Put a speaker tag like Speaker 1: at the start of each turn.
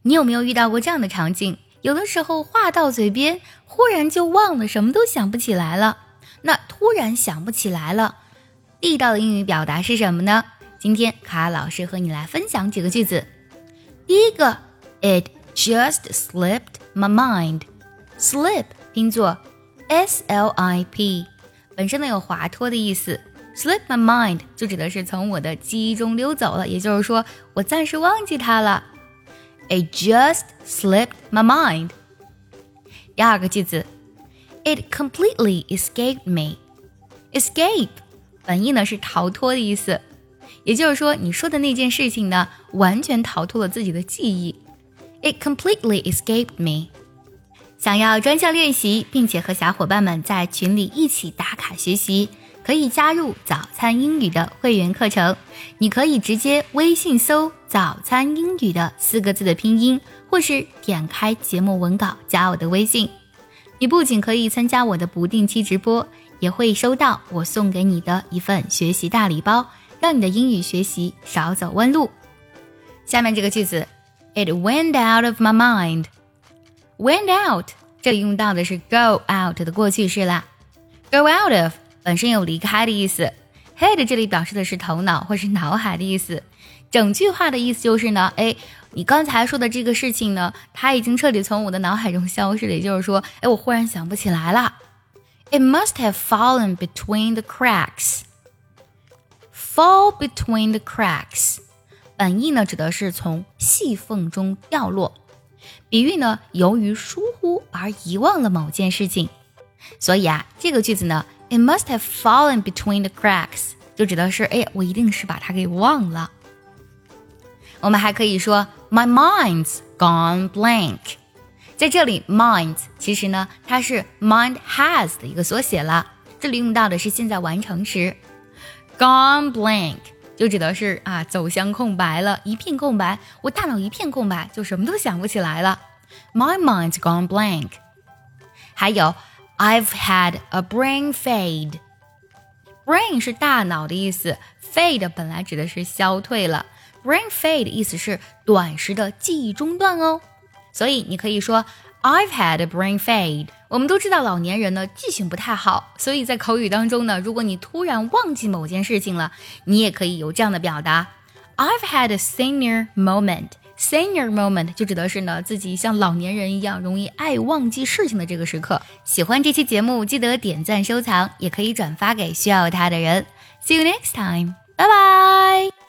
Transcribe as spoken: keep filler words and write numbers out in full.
Speaker 1: 你有没有遇到过这样的场景？有的时候话到嘴边，忽然就忘了，什么都想不起来了。那突然想不起来了，地道的英语表达是什么呢？今天卡老师和你来分享几个句子。第一个 It just slipped my mind. Slip 拼作 S L I P， 本身呢有滑脱的意思， Slip my mind 就指的是从我的记忆中溜走了，也就是说我暂时忘记它了。It just slipped my mind. 第二个句子 It completely escaped me. Escape 本意呢是逃脱的意思，也就是说你说的那件事情呢完全逃脱了自己的记忆。 It completely escaped me. 想要专项练习并且和小伙伴们在群里一起打卡学习，可以加入早餐英语的会员课程。你可以直接微信搜早餐英语的四个字的拼音，或是点开节目文稿加我的微信。你不仅可以参加我的不定期直播，也会收到我送给你的一份学习大礼包，让你的英语学习少走弯路。下面这个句子 It went out of my mind. Went out 这里用到的是 go out 的过去式啦。 Go out of 本身有离开的意思， head 这里表示的是头脑或是脑海的意思。整句话的意思就是呢，诶，你刚才说的这个事情呢，它已经彻底从我的脑海中消失了，也就是说，诶，我忽然想不起来了。It must have fallen between the cracks. Fall between the cracks 本意呢指的是从细缝中掉落，比喻呢由于疏忽而遗忘了某件事情。所以啊，这个句子呢 It must have fallen between the cracks 就指的是，哎，我一定是把它给忘了。我们还可以说 My mind's gone blank。 在这里 mind 其实呢它是 mind has 的一个缩写了，这里用到的是现在完成时。 Gone blank 就指的是啊走向空白了，一片空白，我大脑一片空白，就什么都想不起来了。 My mind's gone blank。 还有 I've had a brain fade。 Brain 是大脑的意思， fade 本来指的是消退了， Brain fade 意思是短时的记忆中断哦。所以你可以说 I've had a brain fade。 我们都知道老年人呢记性不太好，所以在口语当中呢，如果你突然忘记某件事情了，你也可以有这样的表达 I've had a senior moment。 Senior moment 就指的是呢自己像老年人一样容易爱忘记事情的这个时刻。喜欢这期节目记得点赞收藏，也可以转发给需要它的人。See you next time. Bye bye.